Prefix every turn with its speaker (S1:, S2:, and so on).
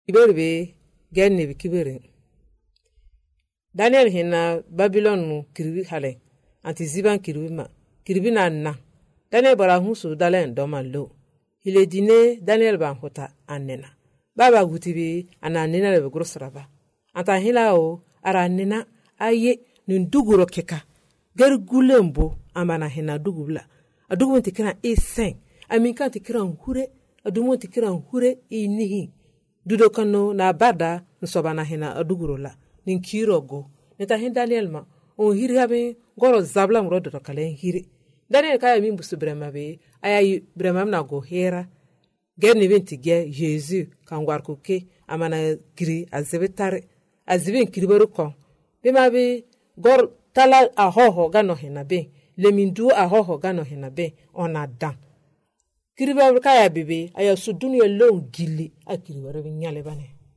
S1: Iberbe genne bi kibere. Daniel hina Babylon nu kiribi hale. Anti ziban kiribi ma. Kiribi na. Daniel bara husu dalen doman lo. Hile dine Daniel ban hota annena. Baba gutibi ananena lebe grosraba. Anta hila o ara nena aye nunduguro keka. Ger gulembo amana hina dugubla. Adugu tikira e5. Aminka tikira hure. Adumu tikira hure inihi. Dudo kano na bada nsobana hina adugurola. Ninkirogo. Neta hin Daniel ma. On hiri habe goro zabla mrodo kalen hiri. Daniel kaya min busu brema be. Aya brema na go hera. Ger ni benti ge Jésus kangwar kuke amana giri azebetare. Azibin kiriberu kon. Bima be gor tala ahoho gano hina be. Lemindu ahoho gano hina be. Ona dan. Kiriberu kaya bebe aya sudunu ye long gili a kiriberu nyale bane.